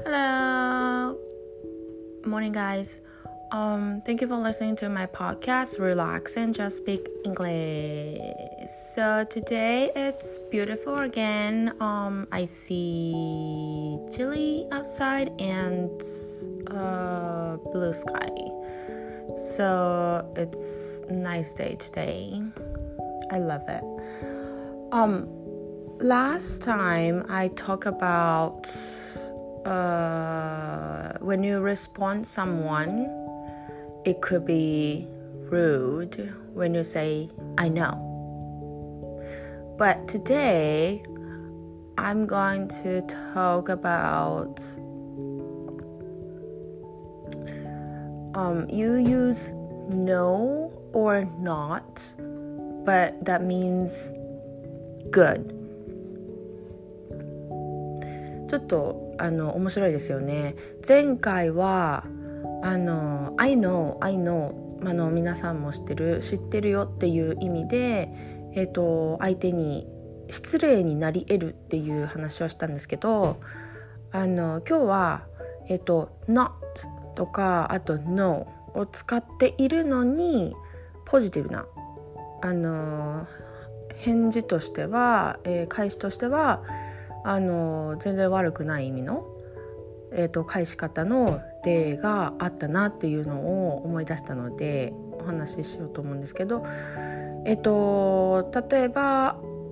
Hello. Morning, guys. Thank you for listening to my podcast, Relax and Just Speak English. So today it's beautiful again. I see chilly outside and blue sky. So it's a nice day today. I love it. Last time I talked about when you respond someone, it could be rude when you say I know. But today I'm going to talk about you use no or not, but that means good. ちょっと面白いですよね。前回はI know、皆さんも知ってるよっていう意味で、相手に失礼になり得るっていう話をしたんですけど、今日はnot とかあと no を使っているのにポジティブな返事としては、返しとしては全然悪くない意味の、返し方の例があったなっていうのを思い出したのでお話ししようと思うんですけど、例えば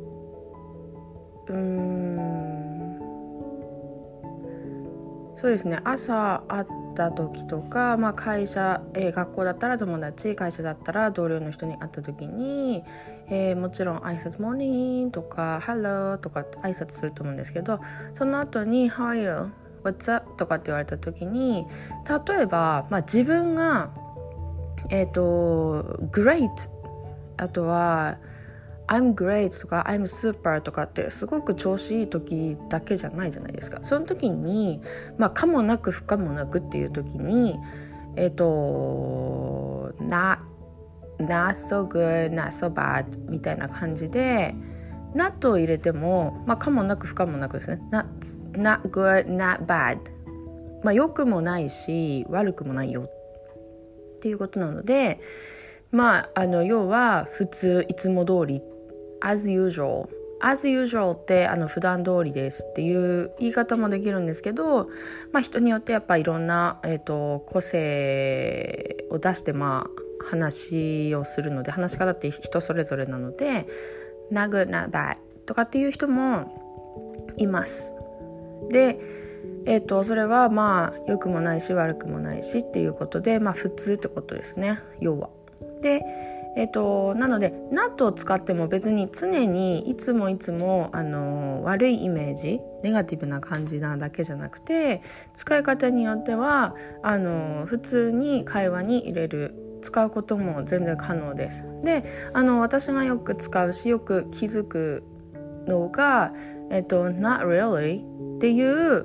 そうですね、朝会った時とか、会社、学校だったら友達、会社だったら同僚の人に会った時に、もちろん挨拶モーニングとか Hello とかって挨拶すると思うんですけど、その後に How are you? What's up? とかって言われた時に、例えば、自分がGreat あとはI'm great とか I'm super とかってすごく調子いい時だけじゃないじゃないですか。その時に可もなく不可もなくっていう時にnot so good, not so bad みたいな感じで not を入れても可もなく不可もなくですね。 not good, not bad、良くもないし悪くもないよっていうことなので、要は普通いつも通りAs usual って普段通りですっていう言い方もできるんですけど、人によってやっぱいろんな、個性を出して話をするので、話し方って人それぞれなので Not good, not bad とかっていう人もいます。で、それは良くもないし悪くもないしっていうことで、普通ってことですね、要は。でなので not を使っても別に常にいつも悪いイメージ、ネガティブな感じなだけじゃなくて、使い方によっては普通に会話に入れる、使うことも全然可能です。で私がよく使うしよく気づくのがnot really っていう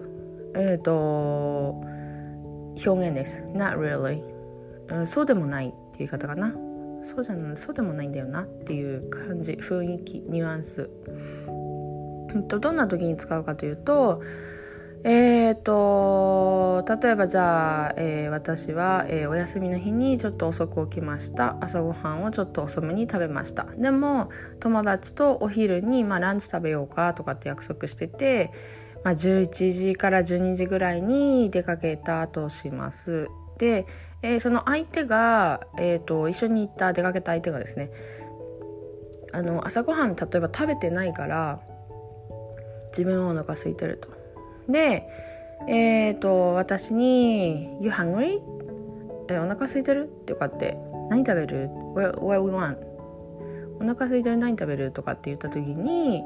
表現です。 not really、そうでもないっていう言い方かな。そうでもないんだよなっていう感じ、雰囲気、ニュアンス。どんな時に使うかというと、例えばじゃあ、私は、お休みの日にちょっと遅く起きました。朝ごはんをちょっと遅めに食べました。でも友達とお昼に、ランチ食べようかとかって約束してて、11時から12時ぐらいに出かけたとします。で、その相手が、一緒に出かけた相手がですね、朝ごはん例えば食べてないから自分はお腹空いてると。で、私に You hungry? お腹空いてるってかって何食べる What we want? お腹空いてる何食べるとかって言った時に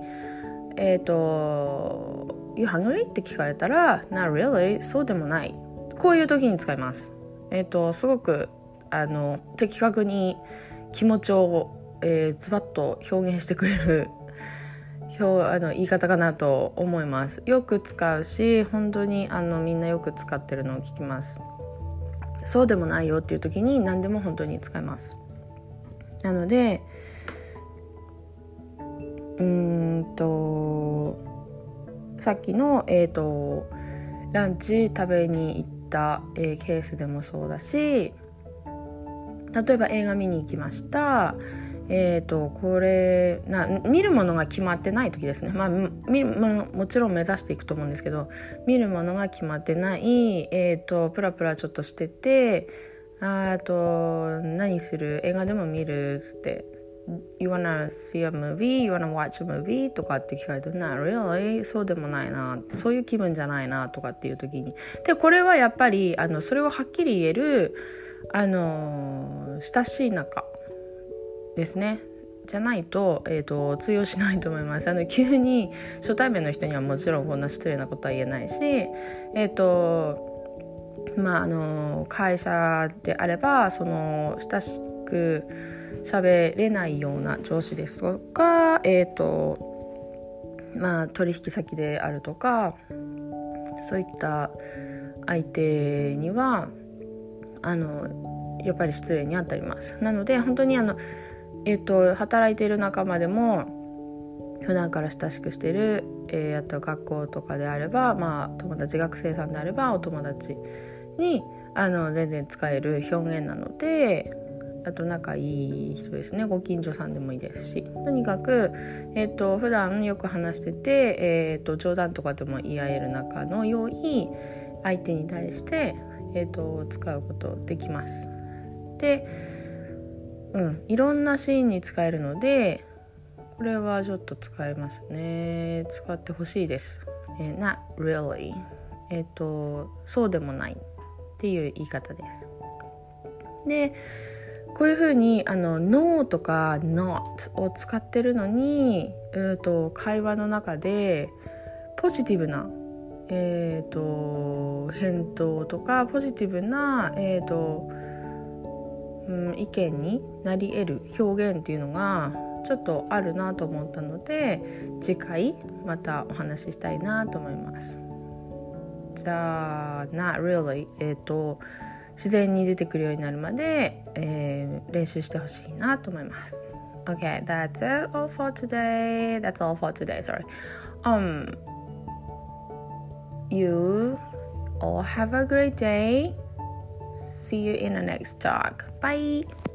You hungry? って聞かれたら Not really? そうでもない。こういう時に使います。すごく的確に気持ちを、ズバッと表現してくれる言い方かなと思います。よく使うし、本当にみんなよく使ってるのを聞きます。そうでもないよっていう時に何でも本当に使います。なのでさっきのランチ食べに行った、ケースでもそうだし、例えば映画見に行きました。これ見るものが決まってない時ですね。見るものもちろん目指していくと思うんですけど、見るものが決まってない、プラプラちょっとしてて、何する、映画でも見るって、You wanna see a movie? You wanna watch a movie? とかって聞かれると Not really? そうでもないな、そういう気分じゃないなとかっていう時に、でこれはやっぱりそれをはっきり言える親しい仲ですね、じゃないと、通用しないと思います。急に初対面の人にはもちろんこんな失礼なことは言えないし、会社であればその親しく喋れないような上司ですとか、取引先であるとか、そういった相手にはやっぱり失礼に当たります。なので本当に働いている仲間でも普段から親しくしている、あと学校とかであれば、友達、学生さんであればお友達に全然使える表現なので、あと仲いい人ですね、ご近所さんでもいいですし、とにかく、普段よく話してて、冗談とかでも言い合える仲の良い相手に対して、使うことできます。で、いろんなシーンに使えるので、これはちょっと使えますね。使ってほしいです。Not really、そうでもないっていう言い方です。でこういうふうにNo とか Not を使ってるのに、会話の中でポジティブな、返答とかポジティブな、意見になり得る表現っていうのがちょっとあるなと思ったので、次回またお話ししたいなと思います。じゃあ Not really、自然に出てくるようになるまで、練習してほしいなと思います。Okay, that's it all for today. That's all for today. Sorry. You all have a great day. See you in the next talk. Bye.